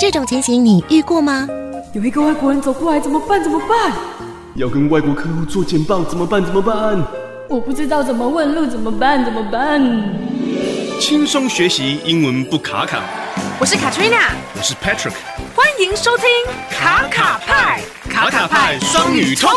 這種情形你遇過嗎？ 有一個外國人走過來，怎麼辦？ 要跟外國客戶做簡報，怎麼辦？ 我不知道怎麼問路，怎麼辦？ 輕鬆學習英文不卡卡。 我是 Katrina， 我是 Patrick， 歡迎收聽卡卡派雙語 Talk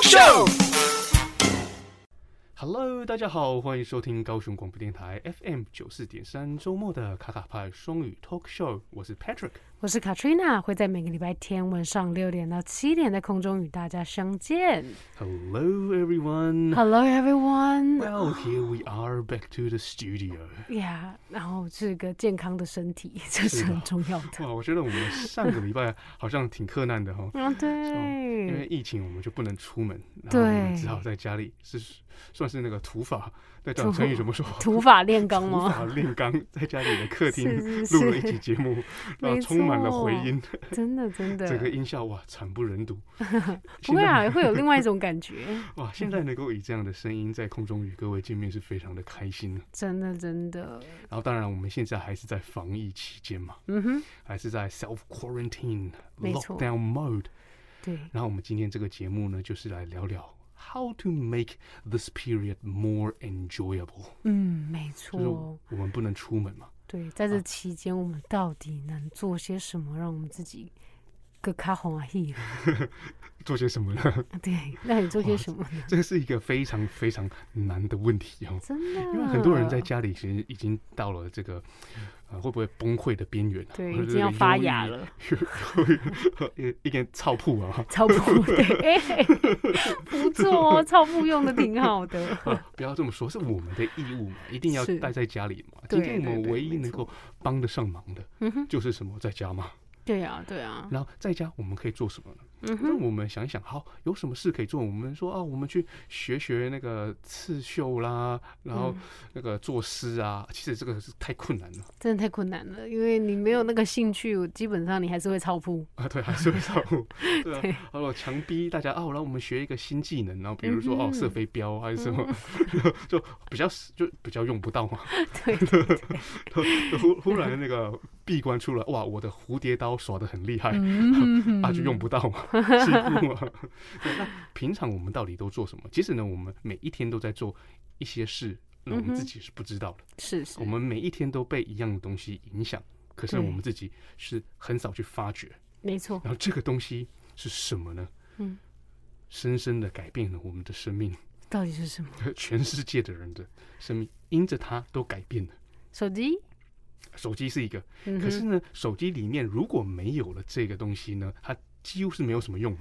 Show。Hello， 大家好，歡迎收聽高雄廣播電台 FM 94.3周末的卡卡派雙語 Talk Show。我是 Patrick， 我是 Katrina， 會在每個禮拜天晚上6點到7點在空中與大家相見。 Hello everyone. Hello everyone. Well, here we are back to the studio. Yeah， 然後是個健康的身體，這是很重要的。 哇，我覺得我們上個禮拜好像挺克難的哈。 對， 因為疫情我們就不能出門，然後我們只好在家裡算是那個土法，那叫成語怎麼說？ 土法煉鋼嗎？ 土法煉鋼，在家裡的客廳錄了一集節目，然後充滿了回音，真的，整個音效哇慘不忍睹。 不會啊，會有另外一種感覺。哇， 現在能夠以這樣的聲音在空中與各位見面，是非常的開心。真的。然後當然我們現在還是在防疫期間嘛，還是在 self quarantine lockdown mode。對。然後我們今天這個節目呢，就是來聊聊How to make this period more enjoyable？ 沒錯，就是我們不能出門嘛。對， 在這期間，我們到底能做些什麼，讓我們自己更加歡喜？ 做些什麼呢？ 對，那你做些什麼呢？ 這個是一個非常非常難的問題哦。真的，因為很多人在家裡其實已經到了這個會不會崩潰的邊緣？對， 已經要發芽了。 一個草鋪啊， 草鋪對，不錯哦，草鋪用的挺好的。 不要這麼說，是我們的義務嘛，一定要待在家裡嘛。今天我們唯一能夠幫得上忙的，就是什麼，在家嘛。對啊。然後在家我們可以做什麼呢？那我們想一想，好，有什麼事可以做？我們說啊，我们去學那個刺繡啦，然後那個作詩啊。其實這個是太困難了，真的太困難了，因為你沒有那個興趣，基本上你還是會操鋪啊。對，還是會操鋪。對啊。然後強逼大家然後我們學一個新技能，然後比如說射飛鏢還是什麼，就比較用不到嘛。對。忽然那個閉關出來，哇，我的蝴蝶刀耍得很厲害，就用不到嘛。欺負嘛。那平常我們到底都做什麼？其實呢，我們每一天都在做一些事，那我們自己是不知道的。是。我們每一天都被一樣的東西影響，可是我們自己是很少去發覺。沒錯。然後這個東西是什麼呢？深深的改變了我們的生命。到底是什麼？全世界的人的生命因着它都改變了。手機是一個，可是呢，手機裡面如果沒有了這個東西呢，它幾乎是沒有什麼用嘛。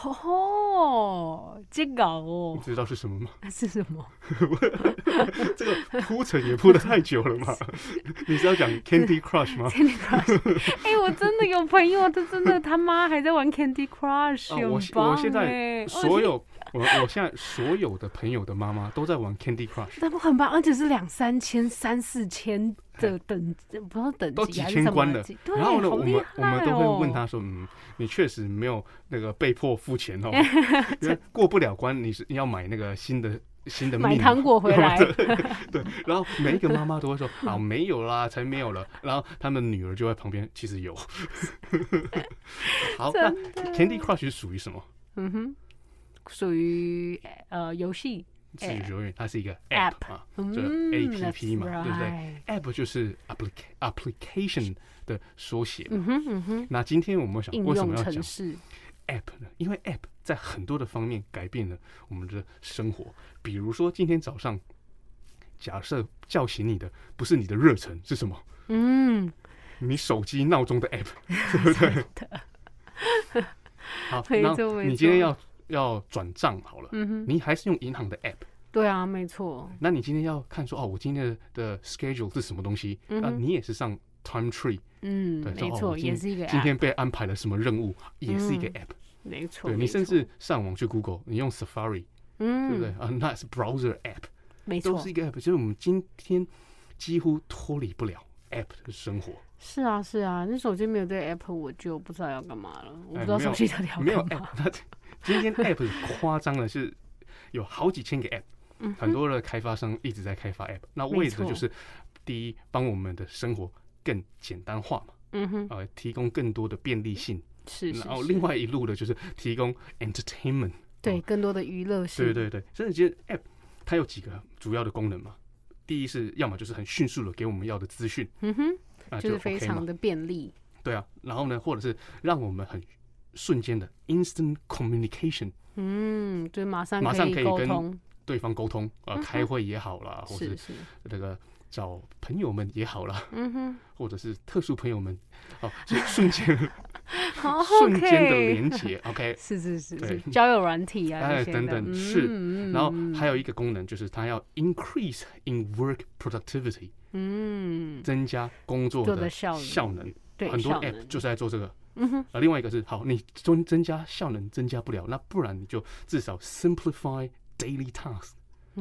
這個哦，你知道是什麼嗎？是什麼？這個鋪陳也鋪得太久了嘛。你是要講 Candy Crush 嗎？Candy Crush， 我真的有朋友，他媽還在玩 Candy Crush。我現在所有的朋友的媽媽都在玩 Candy Crush， 他們很棒，而且是2、3千、3、4千的等，不知道等級都幾千關的。然後呢，我們都會問他說，你確實沒有那個被迫付錢哦，因為過不了關，你要買那個新的買糖果回來。對，然後每一個媽媽都會說沒有啦，才沒有了。然後他們女兒就在旁邊，其實有。好，那 Candy Crush 是屬於什麼？屬於遊戲，它是一個 app 嘛，就是 APP 嘛，對不對 ？app 就是 application 的縮寫。那今天我們想為什麼要講 app 呢？因為 app 在很多的方面改變了我們的生活。比如說今天早上，假設叫醒你的不是你的熱忱，是什麼？你手機鬧鐘的 app， 對不對？好，那你今天要轉賬好了，你還是用銀行的 app。對啊，沒錯。那你今天要看說我今天的 schedule 是什麼東西？那你也是上 Time Tree。對，沒錯，也是一個 app。今天被安排了什麼任務，也是一個 app。沒錯。對，你甚至上網去 Google， 你用 Safari，對不對？那是 browser app， 沒錯，都是一個 app。所以我們今天幾乎脫離不了 app 的生活。是啊，你手機沒有這個 app， 我就不知道要幹嘛了。我不知道手機到底要幹嘛。沒有 app。今天 app 誇張的是有好幾千個 app，很多的開發商一直在開發 app，那為的就是第一幫我們的生活更簡單化嘛， 提供更多的便利性。 是。 然後另外一路的就是提供 entertainment， 對，更多的娛樂性。 对对对，所以其實 App 它有幾個主要的功能嘛。第一是要麼就是很迅速的給我們要的資訊， 就是非常的便利。 對啊，然後呢，或者是讓我們很瞬間的 instant communication， 就是馬上可以跟對方溝通，開會也好啦，或者是那個找朋友們也好啦，或者是特殊朋友們，就瞬間瞬間的連結 ，OK， 是交友軟體啊， 等等是，然後還有一個功能就是它要 increase in work productivity， 增加工作的效能，很多 app 就是在做這個。另外一個是好，你增加效能增加不了，那不然你就至少 simplify daily task，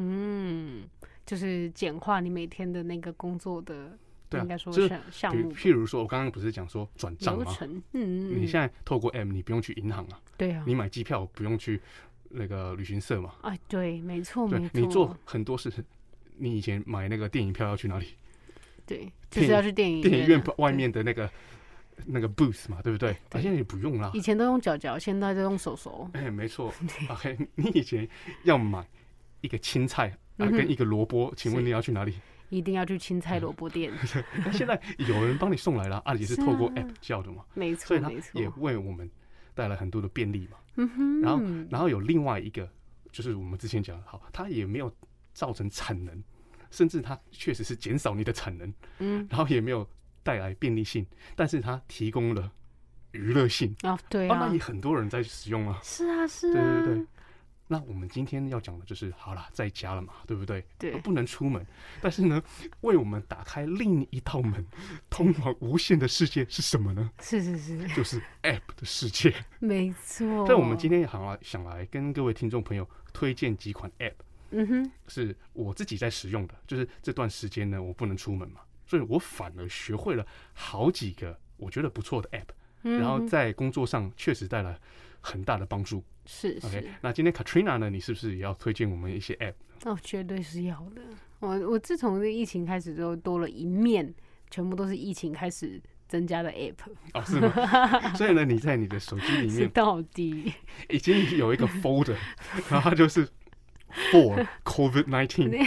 就是簡化你每天的那個工作的，應該說項目。 譬如說，我剛剛不是講說轉賬嗎？你現在透過 app， 你不用去銀行啊，對啊，你買機票不用去那個旅行社嘛， 對，沒錯，沒錯， 你做很多事，你以前買那個電影票要去哪裡？ 對，就是要去電影院外面的那個 booth 嘛，對不對？現在也不用啦。 以前都用腳，現在都用手。 沒錯。OK， 你以前要買一個青菜跟一個蘿蔔，請問你要去哪裡？ 一定要去青菜蘿蔔店。 現在有人幫你送來了，也是透過 app 叫的嘛。 沒錯， 所以它也為我們帶來很多的便利嘛。然後有另外一個，就是我們之前講的，好，它也沒有造成產能，甚至它確實是減少你的產能。然後也沒有帶來便利性，但是它提供了娛樂性。 對啊， 那也很多人在使用啊。 是啊， 對。那我們今天要講的就是，好啦，在家了嘛，对不對？對，不能出門，但是呢，為我們打開另一道門，通往無限的世界是什麼呢？是，就是 App 的世界。沒錯。所以我們今天想來跟各位聽眾朋友推薦幾款 App，是我自己在使用的，就是這段時間呢，我不能出門嘛，所以我反而學會了好幾個我覺得不錯的 App，然後在工作上確實帶來很大的幫助。是 OK， 那今天 Katrina 呢？你是不是也要推薦我們一些 App？ 絕對是要的。我自從這疫情開始之後，多了一面，全部都是疫情開始增加的 App。是嗎？所以呢，你在你的手機裡面到底已經有一個 folder， 然後它就是 For COVID-19，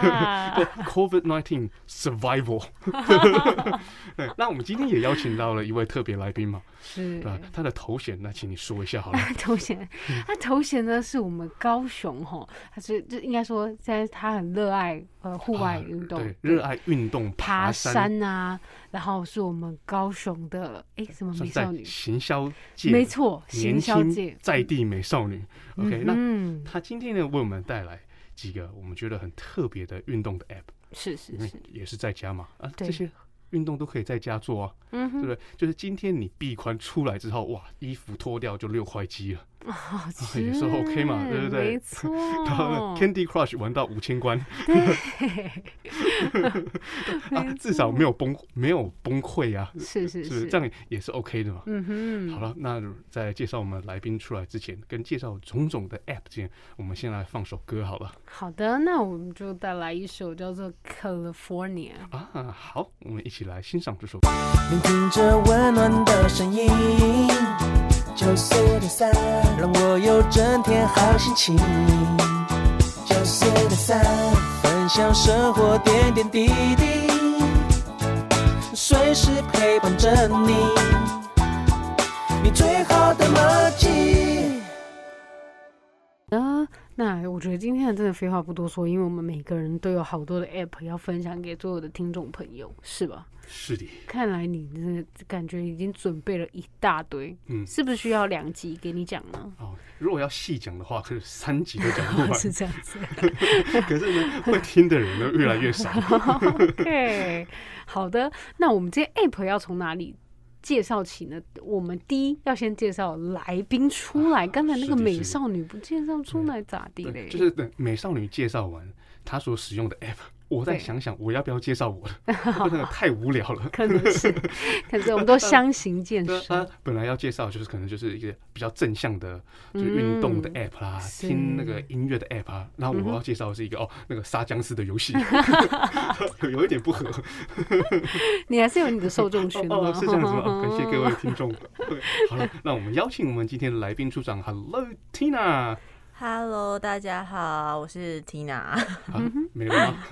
COVID-19 Survival。對，那我們今天也邀請到了一位特別來賓嘛，是他的頭銜，那請你說一下好了。頭銜呢是我們高雄齁，他是就應該說現在他很熱愛戶外運動，對，熱愛運動，爬山啊，然後是我們高雄的什麼美少女行銷界，沒錯，行銷界在地美少女。OK， 那他今天呢為我們帶來幾個我們覺得很特別的運動的 App， 是，也是在家嘛，這些運動都可以在家做啊，對不對？就是今天你閉關出來之後，哇，衣服脫掉就6塊肌了，也是 OK 嘛，對不對？沒錯。然後呢 ，Candy Crush 玩到5000關，至少沒有崩潰啊，是，這樣也是 OK 的嘛。好了，那在介紹我們來賓出來之前，跟介紹種種的 App 之前，我們先來放首歌好了。好的，那我們就帶來一首叫做 California 啊。好，我們一起來欣賞這首歌。聆聽着溫暖的聲音，94.3讓我有整天好心情。94.3分享生活點點滴滴，隨時陪伴着你，你最好的默契。那我覺得今天的真的廢話不多說，因為我們每個人都有好多的 App 要分享給所有的聽眾朋友，是吧？是的。看來你真的感覺已經準備了一大堆，是不是需要2集給你講呢？如果要細講的話，可是3集都講不完。是這樣子。可是呢，會聽的人都越來越少。OK， 好的。那我們這些 App 要從哪裡介紹起呢？我們第一要先介紹來賓出來。剛才那個美少女不介紹出來咋地嘞？就是等美少女介紹完她所使用的 App， 我再想想我要不要介紹我的，那個太無聊了。 可能是我們都相形見絀。 本來要介紹就是可能就是一個比較正向的，就是運動的 app 啦，聽那個音樂的 app 啊。然後我要介紹的是一個那個殺僵屍的遊戲，有一點不合。 你還是有你的受眾群嗎？ 是這樣子嗎？感謝各位聽眾。好了，那我們邀請我們今天的來賓出場。Hello Tina。Hello， 大家好，我是 Tina。 沒了嗎？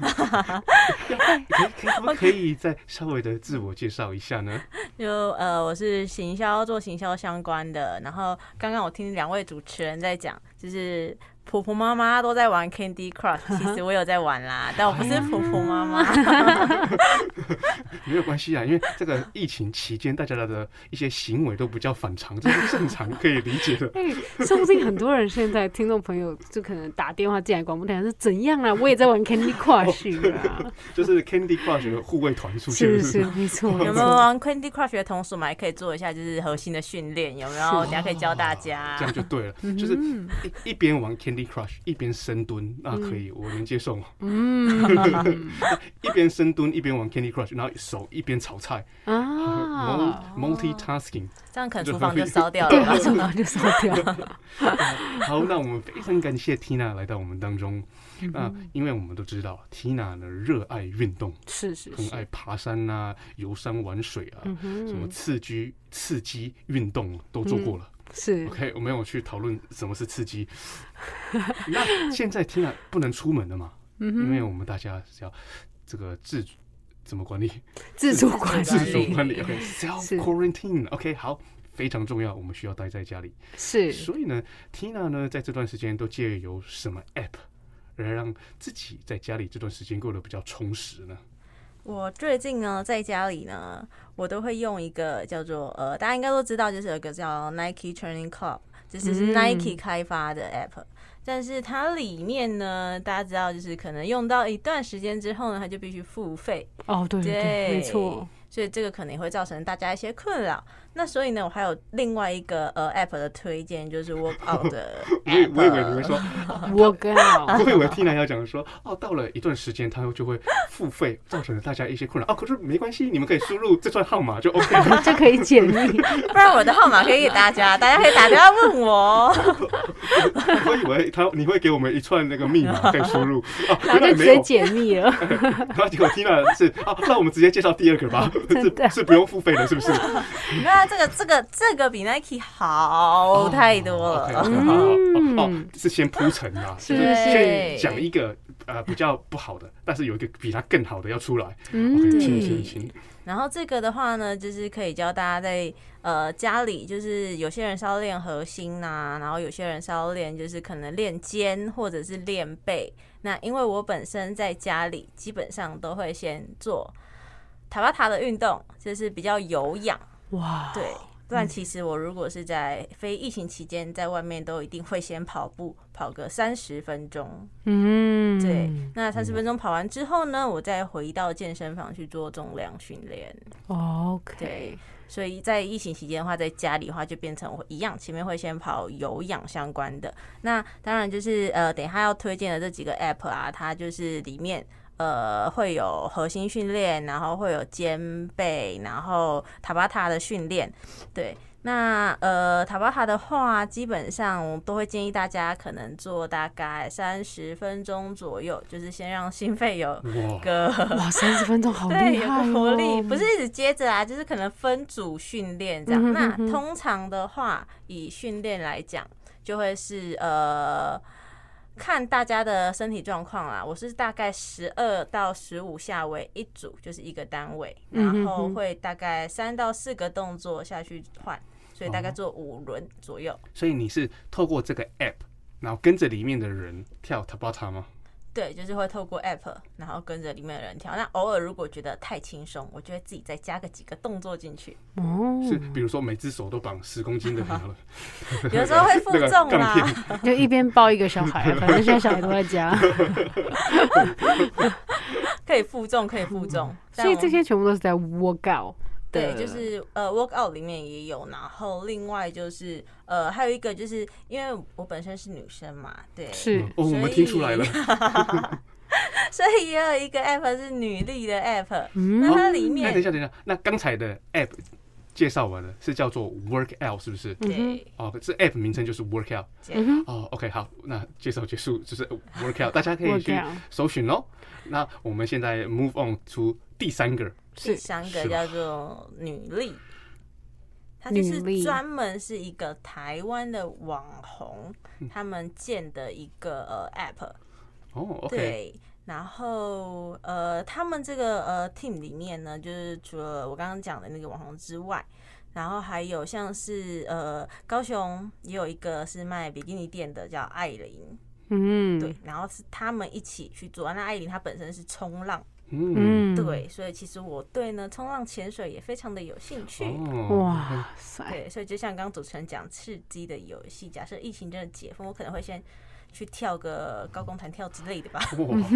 可以再稍微的自我介紹一下呢？ 我是做行銷相關的。然後剛剛我聽兩位主持人在講，就是婆婆媽媽都在玩 Candy Crush， 其實我有在玩啦，但我不是婆婆媽媽。 沒有關係啊，因為這個疫情期間，大家的一些行為都比較反常，這是正常可以理解的。 說不定很多人現在聽眾朋友就可能打電話進來廣播台是怎樣啊？我也在玩 Candy Crush 啊， 就是 Candy Crush 的護衛團出現， 是沒錯。 有沒有玩 Candy Crush 的同時，我們還可以做一下就是核心的訓練，有沒有？等下可以教大家， 這樣就對了，就是一邊玩 Candy Crush 一邊深蹲，那可以，我能接受嗎？一邊深蹲一邊玩 Candy Crush， 然後手一邊炒菜multitasking， 這樣可能廚房就燒掉了，對，廚房就燒掉了。 好，那我們非常感謝 Tina 來到我們當中。因為我們都知道 Tina 呢熱愛運動，是很愛爬山啊、遊山玩水啊，什麼刺激運動都做過了。是 OK， 我們有去討論什麼是刺激。那現在 Tina 不能出門了嘛？因為我們大家是要這個怎麼管理？自主管理。OK， self quarantine。OK， 好，非常重要，我們需要待在家裡。是，所以呢 ，Tina 呢在這段時間都借由什麼 app 來讓自己在家裡這段時間過得比較充實呢？ 我最近呢在家裡呢，我都會用一個叫做大家應該都知道，就是有一個叫 Nike Training Club， 這是 Nike 開發的 app。但是它裡面呢，大家知道就是可能用到一段時間之後呢，它就必須付費。哦，對，沒錯。所以这個可能會造成大家一些困擾。那所以呢，我還有另外一個app 的推薦，就是 Workout 的 app。 我以為你會說 Workout， 我以為 Tina 要講說到了一段時間它就會付費，造成了大家一些困擾。可是沒關係，你們可以輸入這串號碼就 OK 了， 就可以解密。 不然我的號碼可以給大家，大家可以打電話問我。 我以為你會給我們一串那個密碼可以輸入， 然後就直接解密了。 然後結果 Tina 是那我們直接介紹第二個吧，是不用付費的，是不是？ 那這個比 Nike 好太多了。 是先鋪陳啊，就是先講一個比較不好的，但是有一個比它更好的要出來。OK， 請。 然後這個的話呢，就是可以教大家在家裡，就是有些人是要練核心吶，然後有些人是要練就是可能練肩或者是練背。那因為我本身在家裡基本上都會先做塔巴塔的運動，就是比較有氧。哇，对，不然其實我如果是在非疫情期間，在外面都一定會先跑步，跑個30分鐘。對，那30分鐘跑完之後呢，我再回到健身房去做重量訓練。OK， 對，所以在疫情期間的話，在家裡的話就變成我一樣，前面會先跑有氧相關的。那當然就是等一下要推薦的這幾個 app 啊，它就是裡面。會有核心訓練，然後會有肩背，然後塔巴塔的訓練。對，那塔巴塔的話，基本上我都會建議大家可能做大概30分鐘左右，就是先讓心肺有個 30分鐘好厲害對，有個活力，不是一直接着啊，就是可能分組訓練這樣。那通常的話，以訓練來講，就會是看大家的身體狀況啦，我是大概12到15下為一組，就是一個單位，然後會大概3到4個動作下去換，所以大概做5輪左右。 所以你是透過這個 app， 然後跟着裡面的人跳 Tabata 嗎？ 對，就是會透過 app， 然後跟着裡面的人跳。那偶爾如果覺得太輕鬆，我就會自己再加個幾個動作進去。是，比如說每只手都綁10公斤的那個， 有時候會負重啦， 就一邊抱一個小孩，反正現在小孩都在家， 可以負重，可以負重。 所以這些全部都是在 workout。 對，就是 workout 裡面也有，然後另外就是還有一個就是因為我本身是女生嘛，對， 是， 我們聽出來了。 所以也有一個 app 是女力的 app，那它裡面， 等一下，那剛才的 app 介紹完了，是叫做 Workout 是不是？ 對， 這 app 名稱就是 Workout。OK， 好，那介紹結束，就是 Workout， 大家可以去搜尋哦。那我們現在 move on to 第三個叫做女力。它就是專門是一個台灣的網紅，他們建的一個app。對，然後他們這個team 裡面呢，就是除了我剛剛講的那個網紅之外，然後還有像是高雄也有一個是賣比基尼店的，叫艾琳。對，然後是他們一起去做。那艾琳她本身是衝浪。對，所以其實我對呢衝浪潛水也非常的有興趣。 哇塞！ 對，所以就像剛剛主持人講刺激的遊戲，假設疫情真的解封，我可能會先去跳個高空彈跳之類的吧。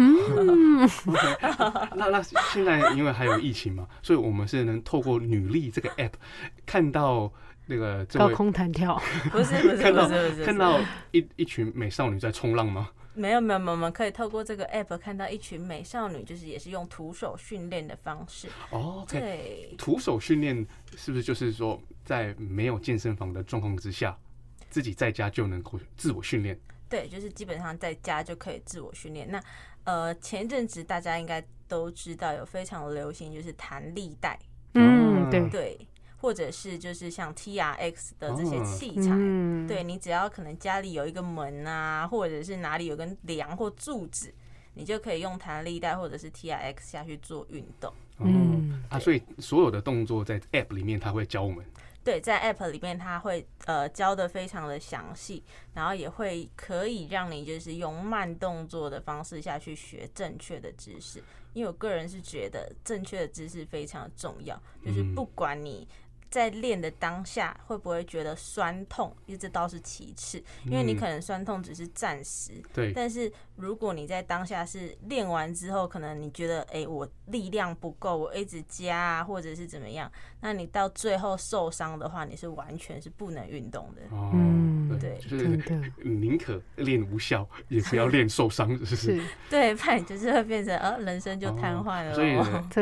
那現在因為還有疫情嘛，所以我們是能透過女力這個 app 看到那個高空彈跳， 不是看到一群美少女在衝浪嗎？ 沒有，我們可以透過這個 app 看到一群美少女，就是也是用徒手訓練的方式。對， 徒手訓練是不是就是說，在沒有健身房的狀況之下，自己在家就能夠自我訓練？對， 就是基本上在家就可以自我訓練。那前一陣子大家應該都知道有非常流行，就是彈力帶。對。或者是就是像 TRX 的這些器材，對，你只要可能家裡有一個門啊，或者是哪裡有根樑或柱子，你就可以用彈力帶或者是 TRX 下去做運動。 所以所有的動作在 App 裡面他會教我們。 對，在 App 裡面他會教得非常的詳細，然後也會可以讓你就是用慢動作的方式下去學正確的知識。因為我個人是覺得正確的知識非常的重要，就是不管你在練的當下會不會覺得酸痛，因為這倒是其次，因為你可能酸痛只是暫時，對。但是如果你在當下是練完之後，可能你覺得我力量不夠，我一直加啊，或者是怎麼樣，那你到最後受傷的話，你是完全是不能運動的。對， 就是寧可練無效，也不要練受傷，是。 對，不然就是會變成人生就癱瘓了。 所以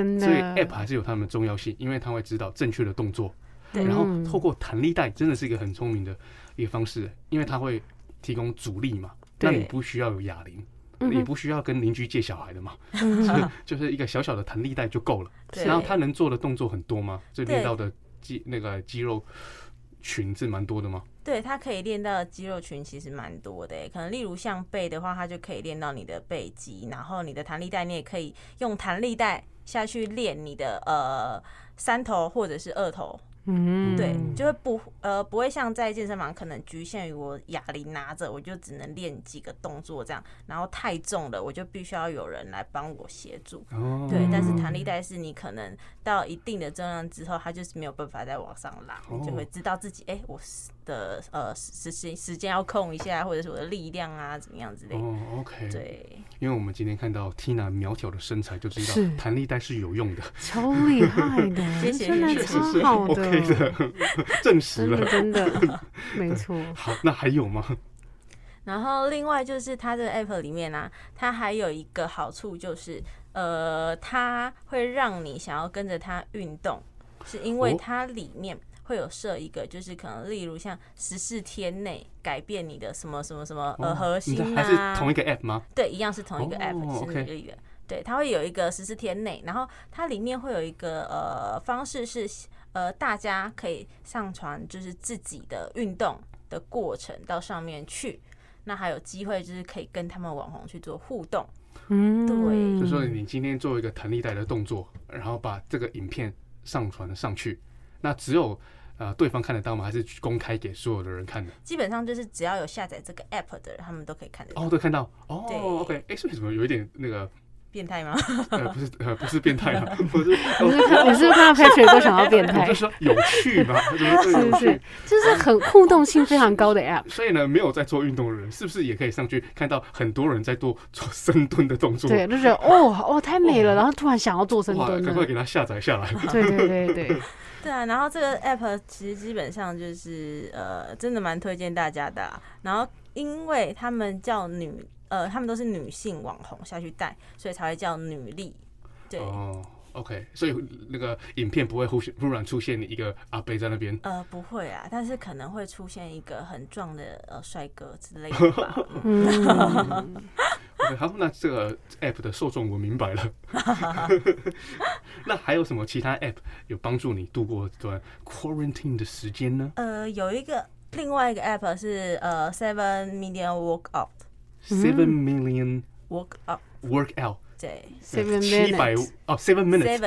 App 還是有它們的重要性，因為它會指導正確的動作。然後透過彈力帶真的是一個很聰明的一個方式，因為它會提供阻力嘛，那你不需要有啞鈴，也不需要跟鄰居借小孩的嘛，就是一個小小的彈力帶就夠了。然後它能做的動作很多嗎？就練到的肌肉群是蠻多的嗎？ 對，它可以練到的肌肉群其實蠻多的，可能例如像背的話，它就可以練到你的背肌，然後你的彈力帶你也可以用彈力帶下去練你的三頭或者是二頭。对，就会不会像在健身房可能局限於我啞鈴拿着，我就只能練幾個動作這樣，然後太重了，我就必須要有人來幫我協助。對，但是彈力帶是你可能到一定的重量之後，它就是沒有辦法再往上拉，你就會知道自己我的時間要控一下，或者是我的力量啊怎麼樣之類的。 OK。对， 因為我們今天看到 Tina 苗條的身材，就知道彈力帶是有用的， 超厲害的，真的超好的。 證實了， 真的沒錯。 好，那還有嗎？ 然後另外就是它這個 app 裡面啊，它還有一個好處就是它會讓你想要跟着它運動，是因為它裡面會有設一個，就是可能例如像14天內改變你的什麼什麼什麼核心啊， 還是同一個 app 嗎？ 對，一樣是同一個 app， 是女力的。對，它會有一個14天內，然後它裡面會有一個方式是。大家可以上傳就是自己的運動的過程到上面去，那還有機會就是可以跟他們網紅去做互動。對， 就說你今天做一個彈力帶的動作，然後把這個影片上傳上去，那只有對方看得到嗎？還是公開給所有的人看的？ 基本上就是只要有下載這個 app 的人，他們都可以看得到。 都看到。OK。所以怎麼有一點那個？ 變態嗎？ 不是變態啊！ 你是不是看到 Patrick 都想要變態？ 我就說有趣嘛， 是，就是很互動性非常高的 app。 所以呢，沒有在做運動的人，是不是也可以上去看到很多人在做深蹲的動作？ 對，就覺得太美了，然後突然想要做深蹲， 趕快給他下載下來。 對。 對啊，然後這個 app 其實基本上就是真的蠻推薦大家的。然後因為他們叫女他們都是女性網紅下去帶，所以才會叫女力。對。 OK， 所以那個影片不會忽然出現一個阿伯在那邊？ 不會啊，但是可能會出現一個很壯的帥哥之類的吧。 OK， 好，那這個 app 的受眾我明白了。那還有什麼其他 app 有幫助你度過這段 quarantine 的時間呢？ 有另外一個 app 是7 million workout。7 million workout。 对 ，7 minutes 7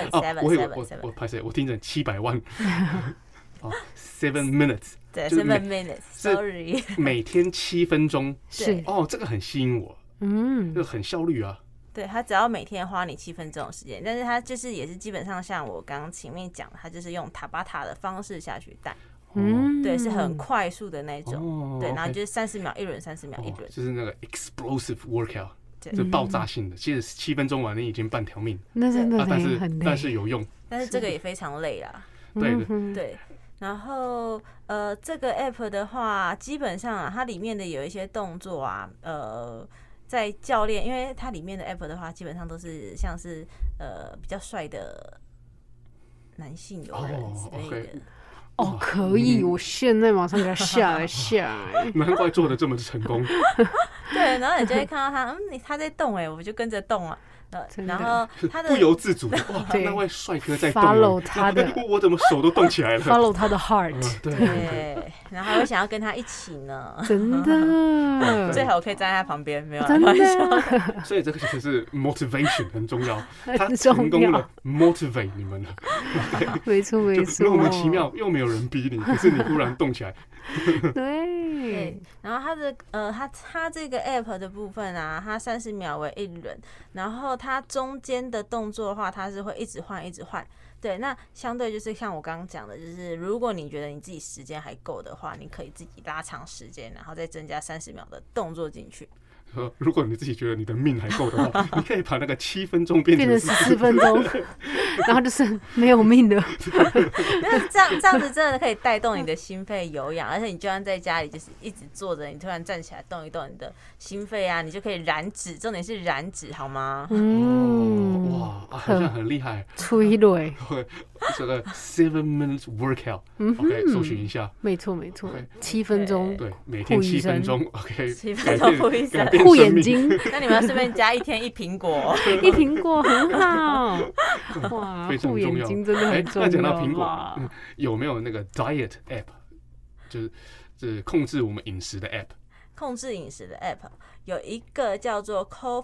minutes 我拍谁？我听成700万。7 minutes 对，7 minutes，sorry， 每天7分鐘。 是这個很吸引我，就很效率啊。 对，他只要每天花你7分鐘的時間，但是他就是也是基本上像我剛剛前面講的，他就是用塔巴塔的方式下去帶。對，是很快速的那種。對，然後就是30秒一輪，30秒一輪， 就是那個 explosive workout。這爆炸性的，其實7分鐘完你已經半條命， 那真的很累， 但是有用， 但是這個也非常累啦。 對的， 對。然後這個 app 的話，基本上啊，它裡面的有一些動作啊，在教練，因為它裡面的 app 的話，基本上都是像是比較帥的男性友人之類的。 可以，我現在馬上給他下來。 難怪做的這麼成功。 對，然後你就會看到他在動，我就跟着動了。然後他的不由自主的哇，那位帥哥在動 ，follow 他的， 我怎麼手都動起來了 ，follow 他的 heart， 對，然後還會想要跟他一起呢， 真的， 最好我可以站在他旁邊，沒有真的， 所以這個其實是 motivation 很重要，他成功了 motivate 你們了， 沒錯沒錯， 莫名其妙又沒有人逼你，可是你忽然動起來， 對，然後他這個 app 的部分啊，它30秒為一輪，然後它中間的動作的話，它是會一直換，一直換。對，那相對就是像我剛剛講的，就是如果你覺得你自己時間還夠的話，你可以自己拉長時間，然後再增加30秒的動作進去。 如果你自己覺得你的命還夠的話，你可以把那個7分鐘變成 14分鐘，然後就是沒有命的。 那這樣子真的可以帶動你的心肺有氧，而且你就算在家裡就是一直坐着，你突然站起來動一動，你的心肺啊，你就可以燃脂，重點是燃脂，好嗎？ 哇，好像很厲害。 催淚。 這個7 minutes workout，OK， 搜尋一下。 沒錯沒錯，7分鐘。 對，每天7分鐘 ，OK， 7分鐘護醫生， 護眼睛。 那你們要順便加一天1蘋果， 一蘋果很好。哇，護眼睛真的很重要。 那講到蘋果，有沒有那個 diet app， 就是控制我們飲食的 app？ 控制飲食的 app 有一個叫做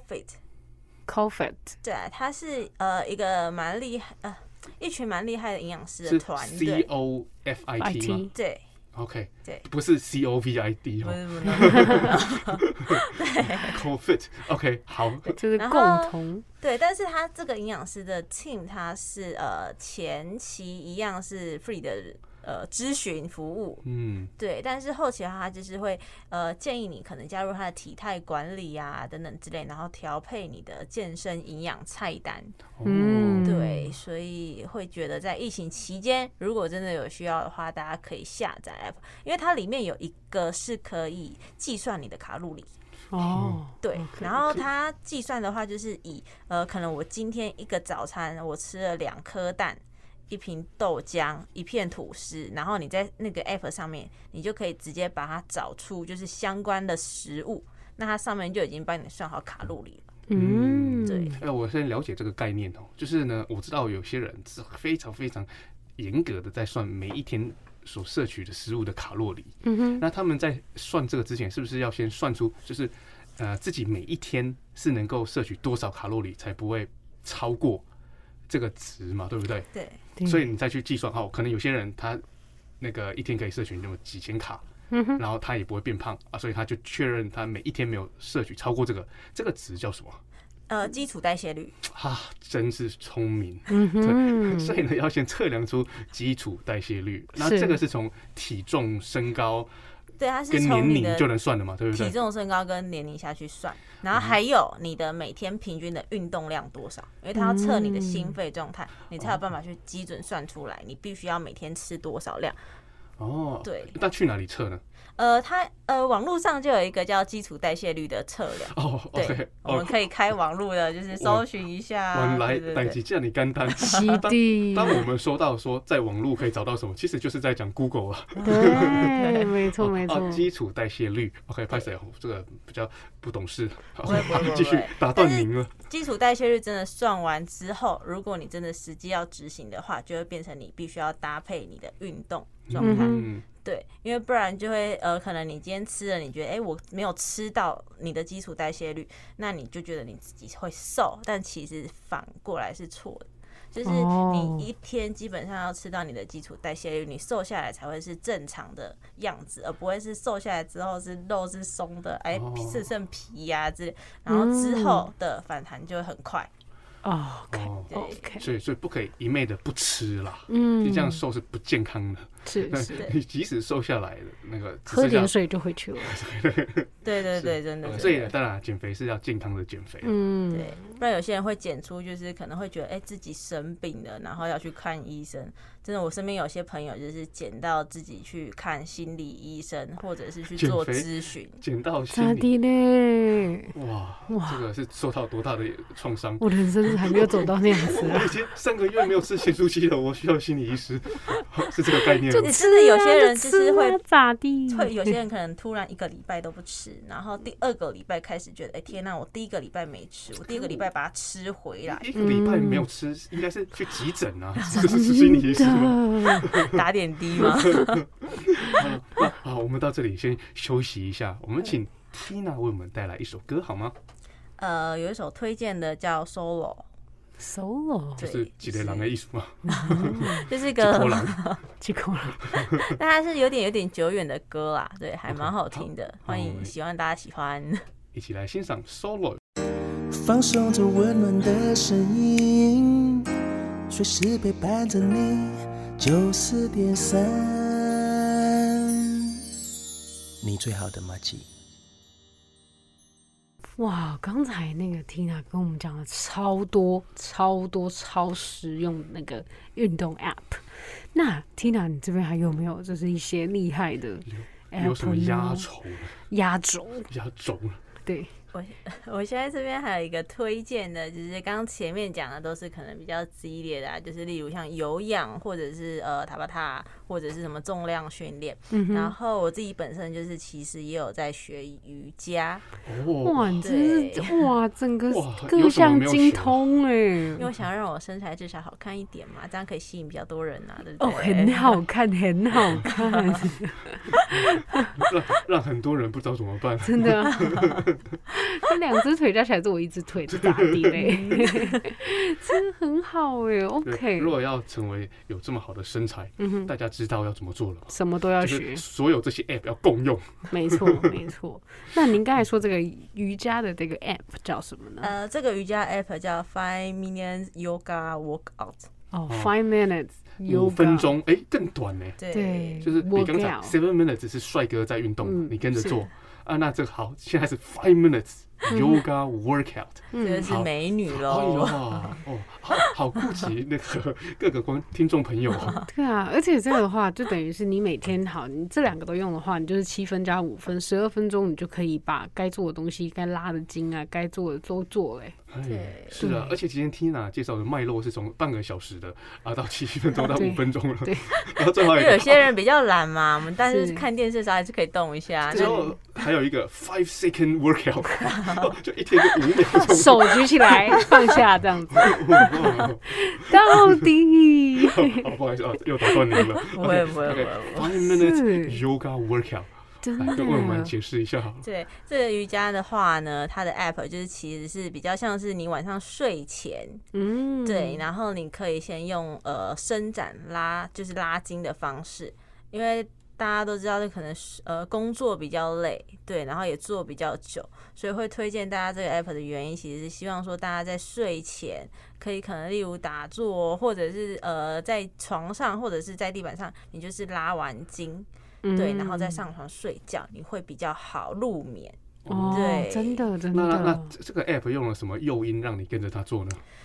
CoFit， 對，它是一個蠻厲害一群蠻厲害的營養師的團隊 ，COFIT 嗎？ 對 ，OK， 對， 不是 COVID， 不是， 對 ，CoFit，OK， 好， 就是共同对，但是他這個營養師的 team， 他是前期一樣是 free 的。諮詢服務，對，但是後期的話，他就是會建議你可能加入他的體態管理啊等等之類，然後調配你的健身營養菜單，對，所以會覺得在疫情期間，如果真的有需要的話，大家可以下載 app， 因為它裡面有一個是可以計算你的卡路里。對，然後它計算的話，就是以可能我今天一個早餐我吃了2顆蛋。1瓶豆漿，1片吐司，然後你在那個 app 上面，你就可以直接把它找出就是相關的食物，那它上面就已經幫你算好卡路里了。對。 我先了解這個概念哦，就是呢，我知道有些人是非常非常嚴格的在算每一天所攝取的食物的卡路里。那他們在算這個之前，是不是要先算出就是自己每一天是能夠攝取多少卡路里，才不會超過這個值嘛？對不對？ 對。 所以你再去計算可能有些人他那個一天可以攝取那麼幾千卡，然後他也不會變胖啊，所以他就確認他每一天沒有攝取超過這個值叫什麼？ 基礎代謝率。 真是聰明。對，所以呢要先測量出基礎代謝率，那這個是從體重、身高。 對，它是從你的就能算了嘛，對不對？ 體重、身高跟年齡下去算，然後還有你的每天平均的運動量多少，因為它要測你的心肺狀態，你才有辦法去基準算出來，你必須要每天吃多少量。 對。那去哪裡測呢？ 它網絡上就有一個叫基礎代謝率的測量。哦，對， okay, 我們可以開網絡的，就是搜尋一下。原來代誌這麼簡單。當我們說到說在網絡可以找到什麼，其實就是在講 Google 了。 對，沒錯沒錯。 基礎代謝率 ，OK， 拍謝，這個比較不懂事。繼續打斷您了。 基礎代謝率真的算完之後，如果你真的實際要執行的話，就會變成你必須要搭配你的運動狀態。對，因為不然就會可能你今天吃了，你覺得我沒有吃到你的基礎代謝率，那你就覺得你自己會瘦，但其實反過來是錯的，就是你一天基本上要吃到你的基礎代謝率，你瘦下來才會是正常的樣子，而不會是瘦下來之後是肉是鬆的，只剩皮呀之類，然後之後的反彈就會很快。 OK， 所以不可以一昧的不吃啦，你這樣瘦是不健康的。 是， 你即使瘦下來的那個， 喝點水就回去了。 对，真的。 所以當然減肥是要健康的減肥。 對，不然有些人會減出，就是可能會覺得自己生病了，然後要去看醫生。真的，我身邊有些朋友就是減到自己去看心理醫生，或者是去做諮詢。減到心理呢？哇，這個是受到多大的創傷？ 我人生還沒有走到那樣子啊！ 我已經3個月沒有吃鹹酥雞了，我需要心理醫師，是這個概念。 你是不是有些人就是會咋地？ 會有些人可能突然1個禮拜都不吃，然後第2個禮拜開始覺得，天哪，我第1個禮拜沒吃，我第2個禮拜把它吃回來。 1個禮拜沒有吃，應該是去急診啊，這是心理醫師嗎？ 打點滴嗎？ 好，我們到這裡先休息一下，我們請 Tina 為我們帶來一首歌好嗎？ 有一首推薦的叫 Solo。 就是幾個人的藝術嘛， 就是個幾口人， 但它是有點久遠的歌啦，對，還蠻好聽的，歡迎希望大家喜歡， 一起來欣賞 Solo。 放鬆着溫暖的聲音，隨時陪伴着你，94.3，你最好的麻吉。 哇，剛才那個 Tina 跟我們講了超多超實用的那個運動 App。那 Tina 你這邊還有沒有就是一些厲害的 App？ 有什麼壓軸？對。 我現在這邊還有一個推薦的，就是剛剛前面講的都是可能比較激烈的，就是例如像有氧或者是塔巴塔或者是什麼重量訓練。然後我自己本身就是其實也有在學瑜伽。 哇，你真是哇，整個各項精通哎！ 因為我想要讓我身材至少好看一點嘛，這樣可以吸引比較多人啊，對不對？ 很好看，很好看。 讓很多人不知道怎麼辦， 真的。他2隻腿加起來是我1隻腿，是咋地嘞？真的很好哎 ，OK。 如果要成為有這麼好的身材，大家知道要怎麼做了嗎？ 什麼都要學， 所有這些 App 要共用。 沒錯。那您剛才說這個瑜伽的這個 App 叫什麼呢？ 這個瑜伽 App 叫 5 Minutes Yoga Workout。 5 minutes。 5分鐘，更短呢。 對， 就是比剛才7 minutes 是帥哥在運動，你跟着做。那這個好，現在是5 minutes yoga workout， 這是美女嘍。 好顧及那個各個聽眾朋友。 對啊，而且這個的話，就等於是你每天你這2個都用的話，你就是7分加5分，12分鐘，你就可以把該做的東西、該拉的筋啊、該做的都做嘞。 對，是啊，而且今天 Tina 介紹的脈絡是從半個小時的到7分鐘到5分鐘了。對，然後最後有些人比較懶嘛，我們但是看電視的時候還是可以動一下。 然後還有一個5 second workout， 就一天就5秒鐘， 手舉起來放下這樣子。到底？ 不好意思又打斷您了。 不會。 5 minutes yoga workout。來跟我們解釋一下好了。 對，這個瑜伽的話呢，它的 app 就是其實是比較像是你晚上睡前，對，然後你可以先用伸展就是拉筋的方式，因為大家都知道，可能工作比較累，對，然後也做比較久，所以會推薦大家這個 app 的原因，其實是希望說大家在睡前可以可能例如打坐，或者是在床上或者是在地板上，你就是拉完筋。對，然後再上床睡覺，你會比較好入眠。對， 真的。 那這個 app 用了什麼誘因讓你跟着他做呢？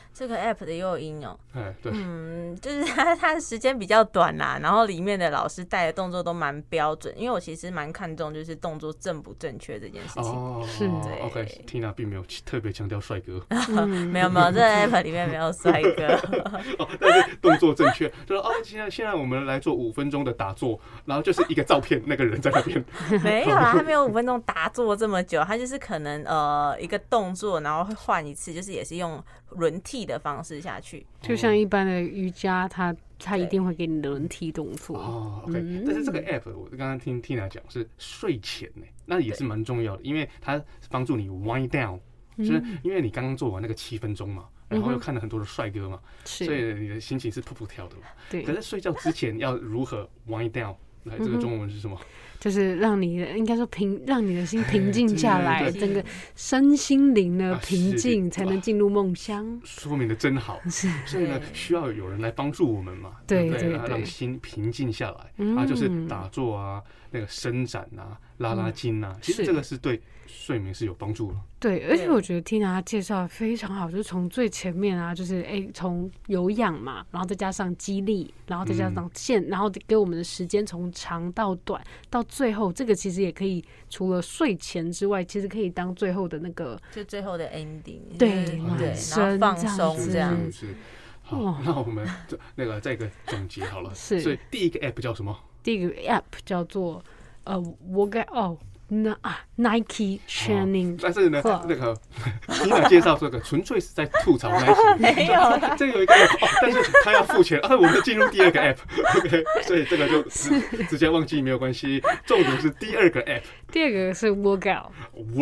這個 app 的誘因哦， 對， 就是它的時間比較短啦，然後裡面的老師帶的動作都蠻標準，因為我其實蠻看重就是動作正不正確這件事情。 是 OK，Tina 並沒有特別強調帥哥， 沒有，這個 app 裡面沒有帥哥。 但是動作正確，就是現在我們來做5分鐘的打坐，然後就是一個照片，那個人在那邊。 沒有啦，他沒有5分鐘打坐這麼久，他就是可能一個動作，然後會換一次，就是也是用輪替的方式下去， 就像一般的瑜伽，它一定會給你輪替動作。 OK，但是這個 app 我剛剛聽 Tina 講是睡前呢，那也是蠻重要的，因為它幫助你 wind down，就是因為你剛剛做完那個7分鐘嘛。然後又看了很多的帥哥嘛，所以你的心情是噗噗跳的嘛。對。可是睡覺之前要如何 wind down？ 來，這個中文是什麼？ 就是让你应該说讓你的心平靜下來，整個身心靈的平靜，才能進入夢鄉。說明的真好。所以呢，需要有人來幫助我們嘛，對，讓心平靜下來。就是打坐啊，那個伸展啊，拉筋啊，其實這個是對睡眠是有幫助的。 对，而且我覺得 Tina 她介紹的非常好，就是從最前面啊，就是從有氧嘛，然後再加上肌力，然後再加上然後給我們的時間從長到短，到最後這個其實也可以除了睡前之外，其實可以當最後的那個就最後的 ending， 對， 然後放鬆這樣。 好，那我們那個再一個總結好了。所以第一個 app 叫什麼？ 第一個 app 叫做workout Nike Training， 但是呢，那個 Tina 介紹這個純粹是在吐槽 Nike， 沒有， 這有一個 app， 但是他要付錢，我們進入第二個 app，OK， 所以這個就直接忘記沒有關係。重點是第二個 app， 第二個是 workout，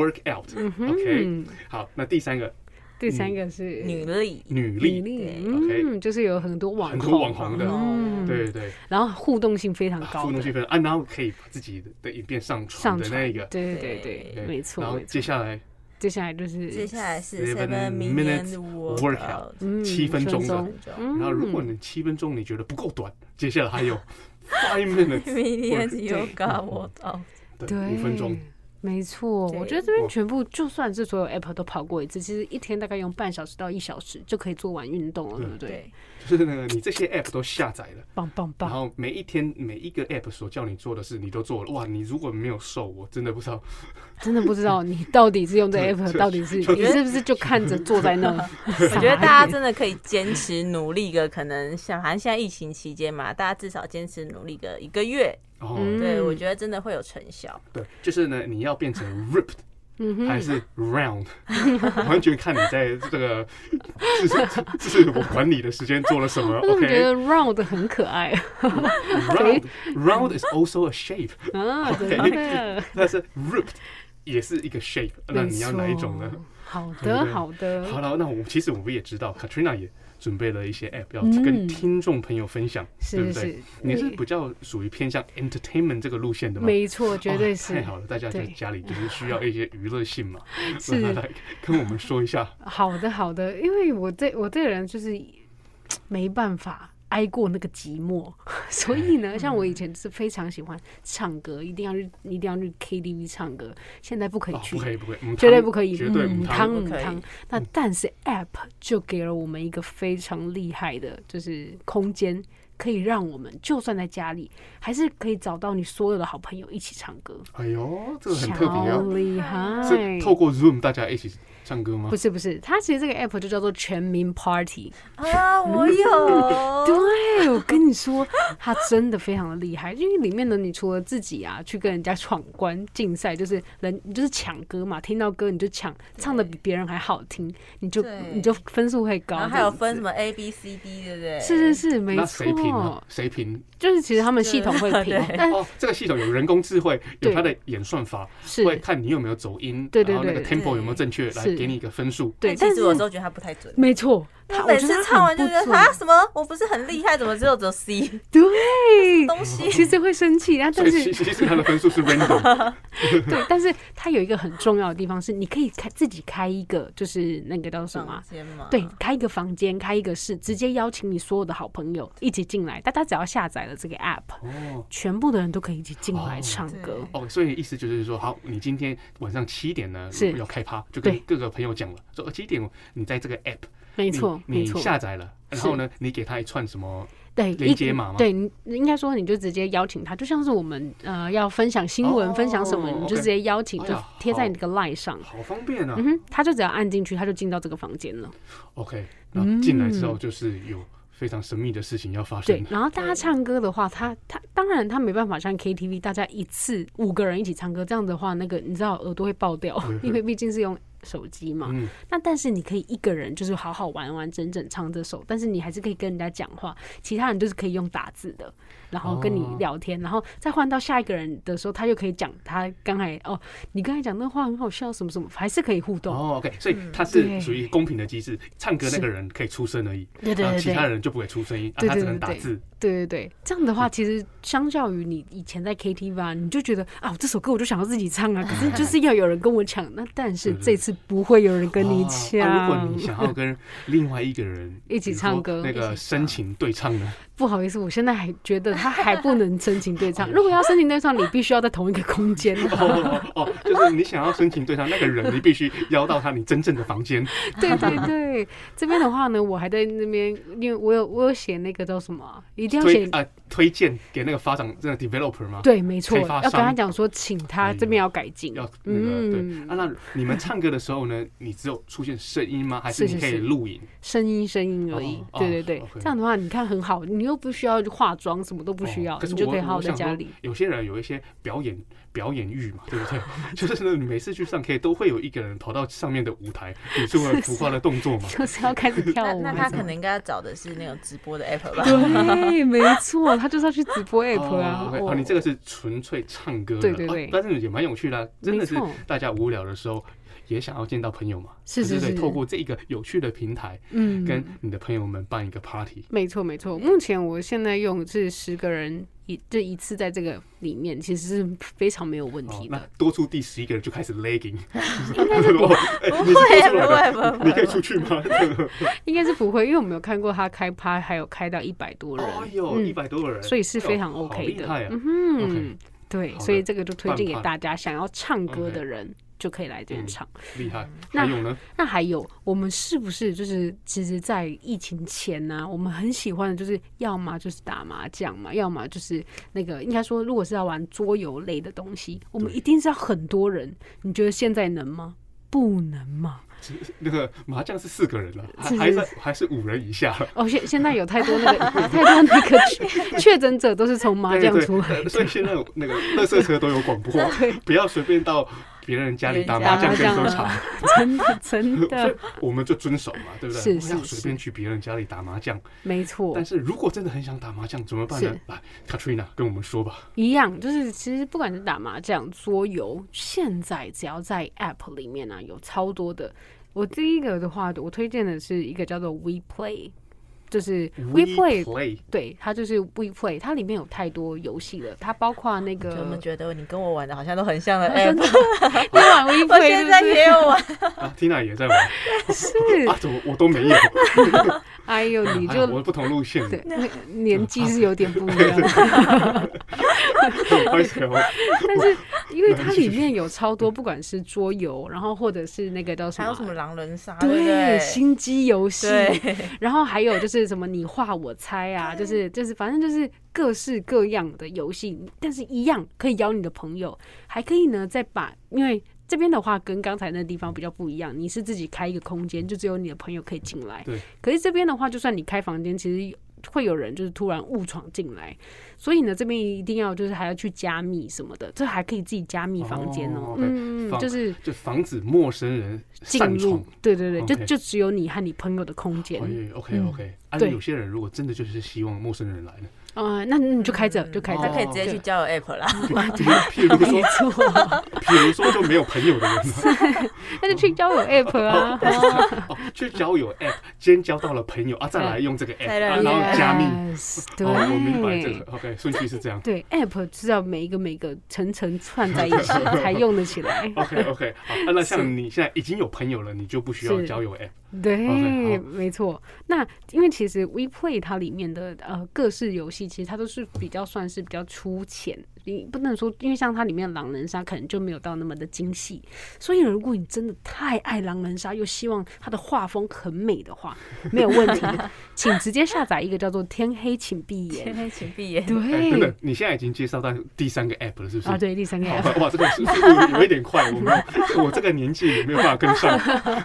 OK， 好，那第三個是女力 ，OK， 就是有很多網紅的，對， 然後互動性非常高， 然後可以把自己的影片上傳的那個， 对，没錯。 然後接下來是 7 minute workout， 7分鐘的。然後如果你7分鐘你覺得不夠短，接下來還有5 minute workout， 對，5分鐘。 沒錯，我覺得這邊全部就算是所有 app 都跑過一次，其實一天大概用半小時到1小時就可以做完運動了，對不對？ 就是那個你這些 app 都下載了， 棒， 然後每一天每一個 app 所叫你做的事你都做了，哇！你如果沒有瘦，我真的不知道你到底是用這 app， 到底是你是不是就看着坐在那？ 我覺得大家真的可以堅持努力個，可能像反正現在疫情期間嘛，大家至少堅持努力個1個月。對，我覺得真的會有成效。 對，就是呢，你要變成 ripped，還是 round， 完全看你在這個自我管理的時間做了什麼。 我覺得 round 很可愛。 round is also a shape。對，但是 ripped 也是一個 shape， 那你要哪一種呢？ 好的。好了，那其實我們也知道 Katrina 也準備了一些 app 要跟聽眾朋友分享，对不對？你是比較屬於偏向 entertainment 這個路線的嗎？ 沒錯，絕對是。 太好了，大家在家裡就是需要一些娛樂性嘛，是來跟我們說一下。好的，因為我這個人就是沒辦法挨過那個寂寞，所以呢，像我以前是非常喜歡唱歌，一定要去 KTV 唱歌。現在不可以去， 不可以， 絕對不可以， 絕對母湯。那但是 App 就給了我們一個非常厲害的，就是空間，可以讓我們就算在家裡，還是可以找到你所有的好朋友一起唱歌。 哎呦，這個很特別啊！ 厲害， 是透過 Zoom 大家一起唱歌嗎？ 不是，它其實這個 app 就叫做全民 Party 啊，我有。 對，我跟你說，它真的非常的厲害，因為裡面呢，你除了自己啊去跟人家闖關競賽，就是你就是搶歌嘛，聽到歌你就搶，唱的比別人還好聽，你就分數會高。 然後還有分什麼 A B C D， 對不對？ 是，沒錯。 誰評？ 就是其實他們系統會評， 這個系統有人工智慧，有它的演算法，會看你有沒有走音，然後那個 tempo 有沒有正確，來給你一個分數。 對，但是我有時候覺得它不太準。 沒錯， 他每次唱完就覺得啊，什麼我不是很厲害，怎麼只有 C？ 對， 東西其實會生氣，但是其實他的分數是 random。 對，但是它有一個很重要的地方是，你可以自己開一個，就是那個叫什麼？對，開一個房間，開一個室，直接邀請你所有的好朋友一起進來。大家只要下載了這個 app，全部的人都可以一起進來唱歌。 所以意思就是說，好，你今天晚上7點呢要開趴，就跟各個朋友講了，說7點你在這個 app。 沒錯， 你下載了，然後呢，你給他一串什麼？ 對， 連結碼嗎？ 對，應該說你就直接邀請他，就像是我們要分享新聞、分享什麼，你就直接邀請，就貼在你這個 LINE 上， 好方便啊。 他就只要按進去，他就進到這個房間了。 OK， 然後進來之後就是有非常神秘的事情要發生。 对，然後大家唱歌的話，他當然他沒辦法像 KTV 大家一次5個人一起唱歌，這樣的話，那個你知道耳朵會爆掉，因為畢竟是用手機嘛。那但是你可以一個人就是好好完完整整唱這首，但是你還是可以跟人家講話，其他人就是可以用打字的，然後跟你聊天，然後再換到下一個人的時候，他就可以講他剛才你剛才講那話很好笑什麼什麼，還是可以互動。 OK， 所以它是屬於公平的機制，唱歌那個人可以出聲而已，对，其他人就不會出聲音，他只能打字。對，這樣的話其實相較於你以前在 KTV 啊，你就覺得這首歌我就想要自己唱啊，可是就是要有人跟我搶。那但是這次不會有人跟你搶。 如果你想要跟另外一個人一起唱歌， 那個深情對唱呢？ 不好意思，我現在還覺得他還不能深情對唱。如果要深情對唱，你必須要在同一個空間。 就是你想要深情对唱那個人，你必須邀到你真正的房間。 對，這邊的話呢，我還在那邊，因為我有寫那個叫什麼，一定要寫推薦給那個發展這個 developer 嗎？ 對，沒錯，要跟他講說，請他這邊要改進。 要那個對那你們唱歌的時候呢，你只有出現聲音嗎？還是你可以錄影？聲音而已。對，這樣的話你看很好，你又不需要化妝，什麼都不需要，你就可以好好在家裡。 有些人有一些表演欲嘛，对不对？就是呢，你每次去上 K 都会有一個人跑到上面的舞台，比出了浮誇的動作嘛， 就是要開始跳舞。 那他可能應該要找的是那種直播的 app 吧？ 對，沒錯，他就是要去直播 app 啊。 你這個是純粹唱歌的， 對， 但是也蠻有趣的，真的是大家無聊的時候也想要見到朋友嘛，是，透過這個有趣的平台，跟你的朋友們辦一個 party。沒錯。 目前我現在用是10個人。這一次在這個裡面其實是非常沒有問題的。 那多出第11個人就開始 lagging， 應該是不會， 你可以出去嗎？ 應該是不會，因為我沒有看過他開趴還有開到100多人 ，100多人， 所以是非常 OK 的。對，所以這個就推薦給大家，想要唱歌的人就可以來這邊唱。 厲害。還有呢？ 那還有，我們是不是就是其實，在疫情前呢，我們很喜歡的就是要麼就是打麻將嘛，要麼就是那個應該說，如果是要玩桌遊類的東西，我們一定是要很多人。你覺得現在能嗎？不能嗎？ 那個麻將是4個人了，還是5人以下了。 現在有太多那個確診者都是從麻將出來的， 所以現在那個垃圾車都有廣播，不要隨便到別人家裡打麻將跟喝茶。真的，所以我們就遵守嘛，對不對？不要隨便去別人家裡打麻將。沒錯。但是如果真的很想打麻將怎麼辦呢？來 ，Katrina 跟我們說吧。 一樣，就是其實不管是打麻將、桌遊，現在只要在 App 裡面有超多的。我第一個的話，我推薦的是一個叫做 WePlay， 就是 WePlay， 对，它就是 WePlay， 它裡面有太多遊戲了，它包括那個。我怎麼覺得你跟我玩的好像都很像的 app？ 你玩 WePlay， 我現在也有玩。 Tina 也在玩。是怎麼我都沒有？ 哎呦，你就我不同路線， 對，年紀是有點不一樣。但是因為它裡面有超多，不管是桌遊，然後或者是那個叫什麼，還有什麼狼人殺，對，心機遊戲，然後還有就是什麼你畫我猜啊，就是反正就是各式各樣的遊戲，但是一樣可以邀你的朋友，還可以呢再把，因為這邊的話跟剛才那個地方比較不一樣，你是自己開一個空間，就只有你的朋友可以進來。對。可是這邊的話，就算你開房間，其實會有人就是突然誤闖進來，所以呢，這邊一定要就是還要去加密什麼的，這還可以自己加密房間哦。就是就防止陌生人進入。對，就只有你和你朋友的空間。 OK。對，有些人如果真的就是希望陌生人來呢？ 那你就開着， 他可以直接去交友 app 啦。 譬如說就沒有朋友的人， 那就去交友 app 啊。 去交友 app， 先交到了朋友啊，再來用這個 app， 然後加密。 對， 我明白這個。OK， 順序是這樣。 對 ，app 是要每個層串在一起才用得起來。 OK， 好，那像你現在已經有朋友了，你就不需要交友 app。 对，沒錯。那因為其實 WePlay 它裡面的各式遊戲。 戲，其實它都是比較算是比較粗淺，你不能說，因為像它裡面的狼人殺可能就沒有到那麼的精細，所以如果你真的太愛狼人殺，又希望它的畫風很美的話，沒有問題，請直接下載一個叫做天黑請閉眼。天黑請閉眼。對。 真的，你現在已經介紹到第3個 app 了，是不是？ 啊，對，第3個 app。 哇，這個速度有一點快，我這個年紀也沒有辦法跟上。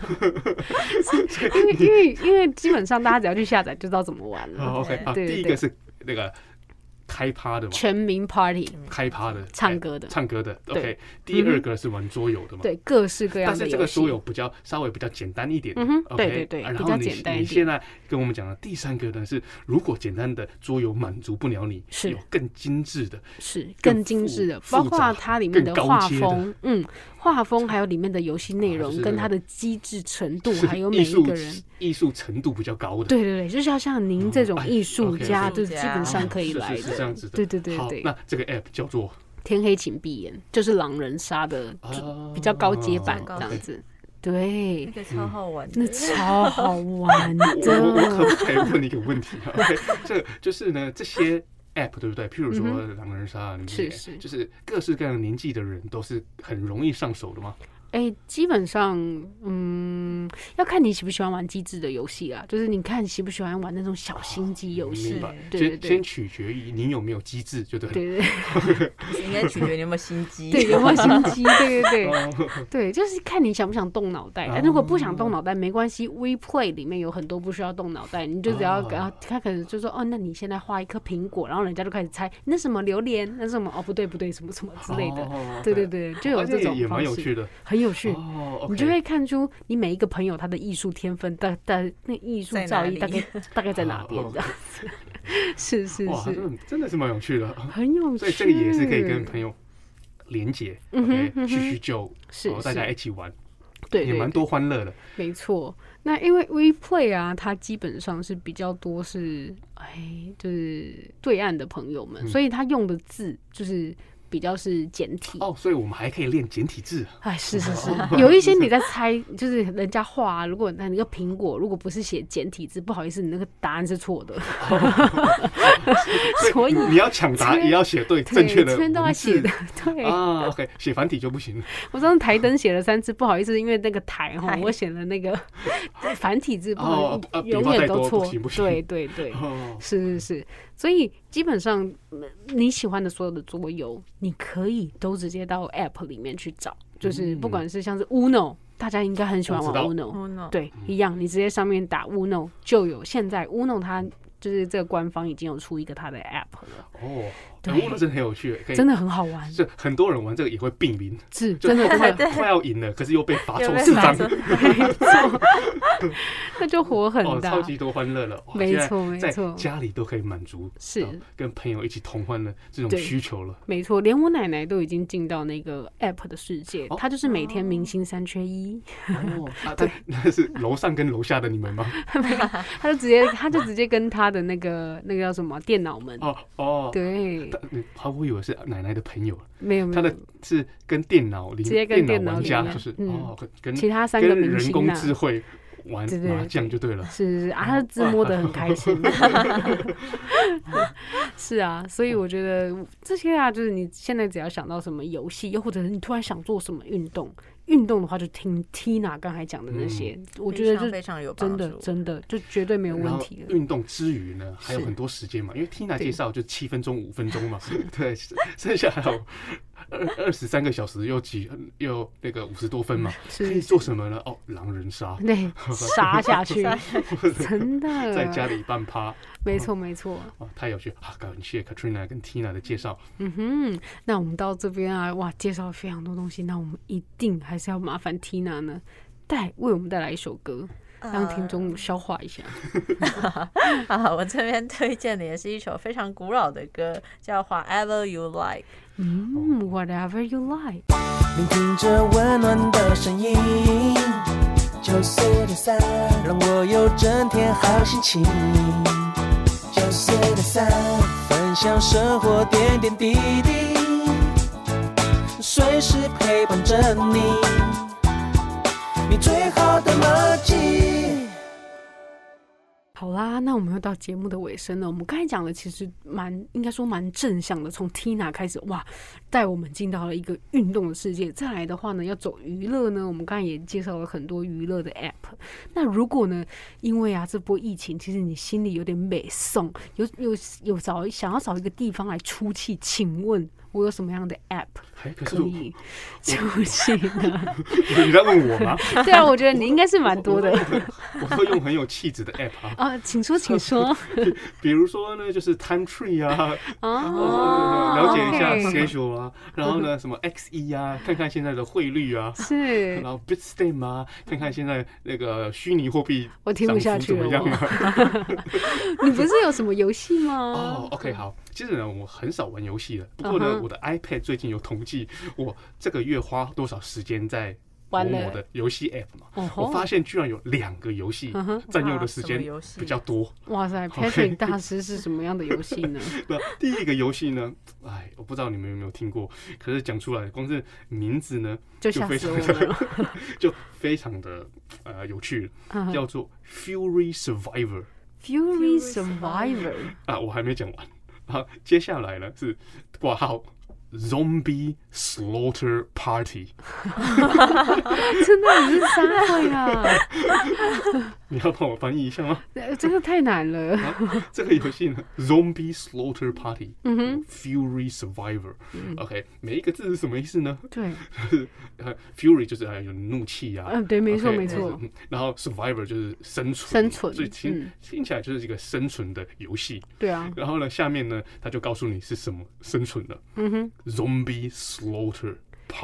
因為基本上大家只要去下載就知道怎麼玩了。 OK， 好，第一個是那個開趴的嘛， 全民 Party， 開趴的， 唱歌的 OK。第2個是玩桌遊的嘛， 對，各式各樣的遊戲。 但是這個桌遊稍微比較簡單一點。 對，比較簡單一點。 你現在跟我們講的第3個呢是，如果簡單的桌遊滿足不了你，是有更精緻的，包括它裡面的畫風，畫風還有裡面的遊戲內容，跟它的機制程度，還有每一個人藝術程度比較高的。 對，就是要像您這種藝術家，就基本上可以來的。 是這樣子的。 对。 好，那這個 app 叫做天黑請閉眼，就是狼人殺的比較高階版這樣子。對， 那個超好玩的， 那超好玩的。 我可不可以問你一個問題啊？這個就是呢，這些 app 對不對？譬如說狼人殺，就是各式各樣年紀的人都是很容易上手的嗎？ 基本上，要看你喜不喜歡玩機智的遊戲啦。就是你看喜不喜歡玩那種小心機遊戲。 对，先取決於你有沒有機智，就對了。 對，應該取決於你有沒有心機。 對，有沒有心機？對，就是看你想不想動腦袋。如果不想動腦袋沒關係，WePlay 裡面有很多不需要動腦袋，你就只要給他可能就說那你現在畫一顆蘋果，然後人家就開始猜那什麼榴蓮，那什麼不對，什麼什麼之類的。對，就有這種方式， 也蠻有趣的， 很有趣。你就會看出你每一個朋友他的藝術天分，那藝術造詣大概在哪邊這樣子。是， 哇，真的是蠻有趣的， 很有趣。 所以這個也是可以跟朋友連結，敘舊，大家一起玩， 對， 也蠻多歡樂的。 沒錯，那因為 WePlay 啊，它基本上是比較多是就是對岸的朋友們，所以他用的字就是比較是簡體所以我们還可以練簡體字。 是，有一些你在猜，就是人家畫，如果那個蘋果如果不是寫簡體字，不好意思，你那個答案是錯的。所以你要搶答也要寫對正確的文字， 全都要寫的。對 OK， 寫繁體就不行了。 我上次台燈寫了3次，不好意思，因為那個台我寫了那個繁體字，不能永遠都錯。對，是。所以基本上你喜歡的所有的桌遊，你可以都直接到 App 裡面去找，就是不管是像是 Uno， 大家應該很喜歡玩 Uno， 對，一樣，你直接上面打 Uno 就有。現在 Uno 它就是這個官方已經有出一個它的 App 了。 對，Uno 真的很有趣， 真的很好玩。 是很多人玩這個也會並名， 是真的快要贏了，可是又被罰抽4張， 沒錯，那就火很大， 超級多歡樂了。 沒錯， 在家裡都可以滿足，是跟朋友一起同歡的這種需求了。沒錯， 連我奶奶都已經進到那個 App 的世界，她就是每天明星3缺1。 對，那是樓上跟樓下的你們嗎？ 她就直接跟她的那個叫什麼電腦們對。 我以為是奶奶的朋友， 沒有， 他的是跟電腦直接跟電腦玩家，就是跟其他3個明星人工智慧玩麻將就對了。 是啊，他自摸得很開心。是啊，所以我覺得這些啊，就是你現在只要想到什麼遊戲，又或者是你突然想做什麼運動的話，就聽 Tina 剛才講的那些，我覺得就非常有幫助， 真的就絕對沒有問題了。 運動之餘呢，還有很多時間嘛，因為 Tina 介紹就7分鐘、5分鐘嘛，對，剩下還有23個小時又那個50多分嘛，可以做什麼呢？狼人殺， 對，殺下去，真的在家裡半趴， 沒錯， 太有趣啊！感謝 Katrina 跟 Tina 的介紹。 那我們到這邊啊，哇，介紹了非常多東西，那我們一定還是要麻煩 Tina 呢，為我們帶來一首歌，讓聽眾消化一下。 我這邊推薦的也是一首非常古老的歌，叫 Whatever You Like。 Whatever You Like。 聆聽着溫暖的聲音，94.3，讓我有整天好心情。94.3，分享生活點點滴滴，隨時陪伴着你，你最好的默契。 好啦，那我們又到節目的尾聲了。我們剛才講的其實應該說蠻正向的，從 Tina 開始，哇，帶我們進到了一個運動的世界。再來的話呢，要走娛樂呢，我們剛才也介紹了很多娛樂的 App。那如果呢，因為這波疫情，其實你心裡有點美送，想要找一個地方來出氣，請問我有什麼樣的 App 可以出氣呢？ 你在問我嗎？ 對啊，我覺得你應該是蠻多的。 我會用很有氣質的 App 啊。 請說，請說。 比如說呢，就是 Time Tree 啊，了解一下 schedule 啊，然後呢，什麼 XE 啊，看看現在的匯率啊， 是， 然後 Bitstamp 啊，看看現在那個虛擬貨幣我聽不下去了。你不是有什麼遊戲嗎 ？OK， 好。其實呢，我很少玩遊戲的。不過呢，我的 iPad 最近有統計，我這個月花多少時間在某某的遊戲 App 嘛。我發現居然有2個遊戲佔用的時間比較多。 哇塞 ，Patrick 大師是什麼樣的遊戲呢？ 第一個遊戲呢，我不知道你們有沒有聽過，可是講出來，光是名字呢就非常的就非常的有趣，叫做 Fury Survivor。Fury Survivor 我還沒講完。好，接下來呢是掛號 Zombie Slaughter Party。 真的你是3位啊？ 你要幫我翻譯一下嗎？ 這個太難了。 這個遊戲呢 ，Zombie Slaughter Party，Fury Survivor。OK， 每一個字是什麼意思呢？ 對 ，Fury 就是有怒氣啊。 對，沒錯沒錯。 然後 Survivor 就是生存，所以聽起來就是一個生存的遊戲。 对啊。 然後呢，下面呢，他就告訴你是什麼生存的。Zombie Slaughter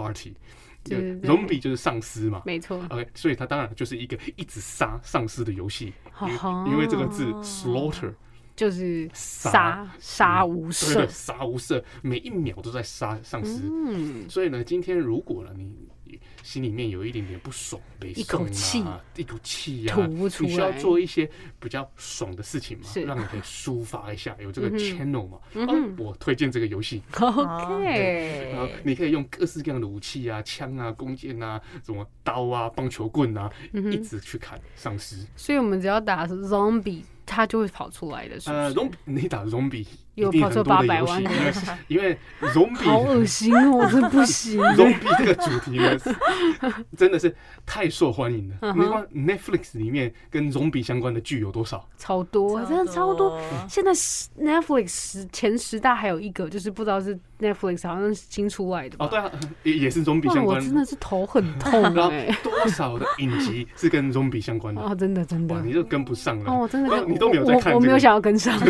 Party。Zombie 就是喪屍嘛， 沒錯。 OK， 所以它當然就是一個一直殺喪屍的遊戲，因為這個字 slaughter 就是殺無赦， 殺無赦，每一秒都在殺喪屍。所以呢，今天如果呢你心裡面有一點點不爽，一口氣呀， 吐不出来， 你需要做一些比較爽的事情嘛，讓你可以抒發一下，有這個 channel 嘛。我推薦這個遊戲 ，OK。 然後你可以用各式各樣的武器啊，槍啊，弓箭啊，什麼刀啊，棒球棍啊，一直去砍喪屍。 所以我們只要打 zombie， 它就會跑出來的。 你打 zombie。 有跑出800萬的游戏，因为 zombie 好惡心哦，真不行。 zombie 這個主題呢，真的是太受歡迎了。你看 Netflix 裡面跟 zombie 相關的劇有多少？ 超多，真的超多。現在 Netflix 前10大還有一個，就是不知道是 Netflix 好像是新出來的吧？ 對啊，也是 zombie 相關的。 我真的是頭很痛哎。 多少的影集是跟 zombie 相關的？ 哦，真的真的， 你就跟不上了。 哦，真的， 你都沒有在看。 我沒有想要跟上。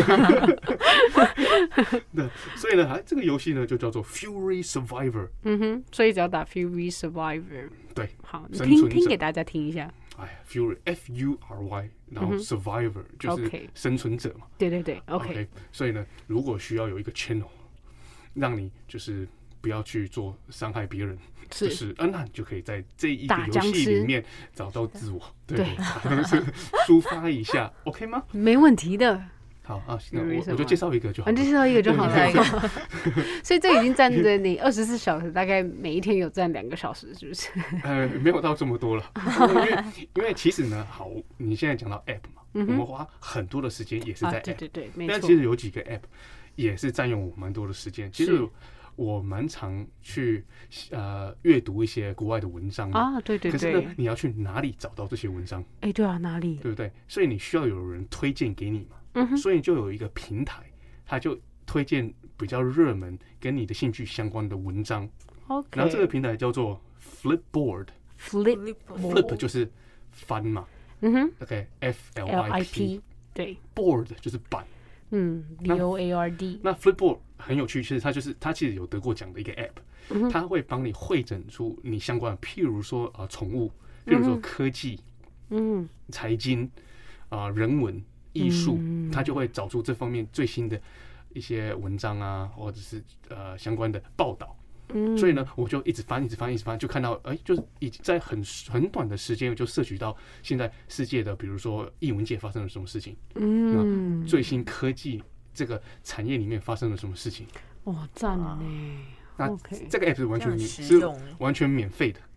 對，所以呢，這個遊戲呢就叫做 Fury Survivor。 所以只要打 Fury Survivor。 對， 好，你拼給大家聽一下。 Fury Fury， 然後 Survivor 就是生存者嘛。 對對對 ，OK。 所以呢，如果需要有一個 channel， 讓你就是不要去做傷害別人，就是那你就可以在這一個遊戲裡面找到自我，對，抒發一下 ，OK 嗎？ 沒問題的。 好啊，那我就介紹一個就好， 就介紹一個就好了。所以這已經佔着你24小時，大概每一天有佔2個小時，是不是？ 沒有到這麼多了，因為其實呢，好，你現在講到 App 嘛，我們花很多的時間也是在 App， 對，沒錯。但其實有幾個 App 也是佔用我蠻多的時間。其實我蠻常去閱讀一些國外的文章啊，對。可是呢，你要去哪裡找到這些文章？ 對啊，哪裡？ 對不對？所以你需要有人推薦給你嘛。所以就有一個平台，它就推薦比較熱門跟你的興趣相關的文章。然後這個平台叫做 Flipboard。Flip 就是翻嘛。OK FLIP 對 ，board 就是板。BOARD。那 Flipboard 很有趣，其實它其實有得過獎的一個 App，它會幫你彙整出你相關的，譬如說寵物，譬如說科技，財經人文。藝術，他就會找出這方面最新的一些文章啊，或者是相關的報道。所以呢，我就一直翻，就看到就是已經在很短的時間就攝取到現在世界的，比如說藝文界發生了什麼事情，那最新科技這個產業裡面發生了什麼事情。 哇，讚呢！ 那這個 app 是完全免費的。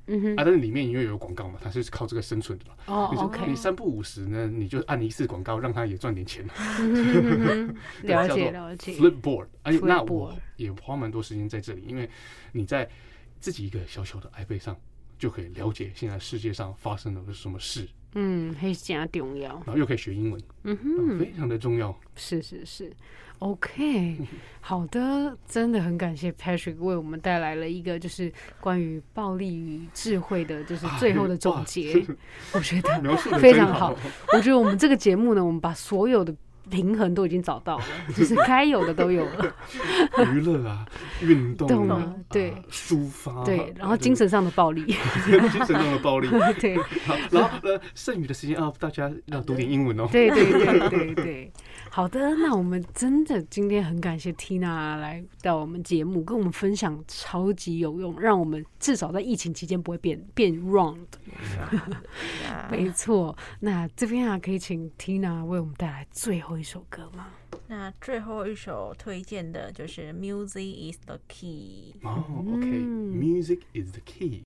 但是裡面因為有廣告嘛，它是靠這個生存的嘛。 OK， 你3不5時呢，你就按一次廣告，讓它也賺點錢。 了解。 Flipboard， 那我也花蠻多時間在這裡，因為你在自己一個小小的 iPad 上，就可以了解現在世界上發生了什麼事。 很加重要， 然後又可以學英文，非常的重要。 是，OK， 好的，真的很感謝 Patrick 為我們帶來了一個就是關於暴力與智慧的，就是最後的總結，我覺得非常好。我覺得我們這個節目呢，我們把所有的平衡都已經找到了，就是該有的都有了， 娛樂啊，運動啊， 對， 抒發， 對，然後精神上的暴力， 精神上的暴力， 对。 然後剩餘的時间大家要讀點英文哦。 对。好的，那我們真的今天很感謝 Tina 來到我們節目，跟我們分享超級有用，讓我們至少在疫情期間不會變 wrong 的。沒錯，那這邊可以請 Tina 為我們帶來最後一首歌嗎？ 那最後一首推薦的就是 Music is the Key。 OK，Music is the Key。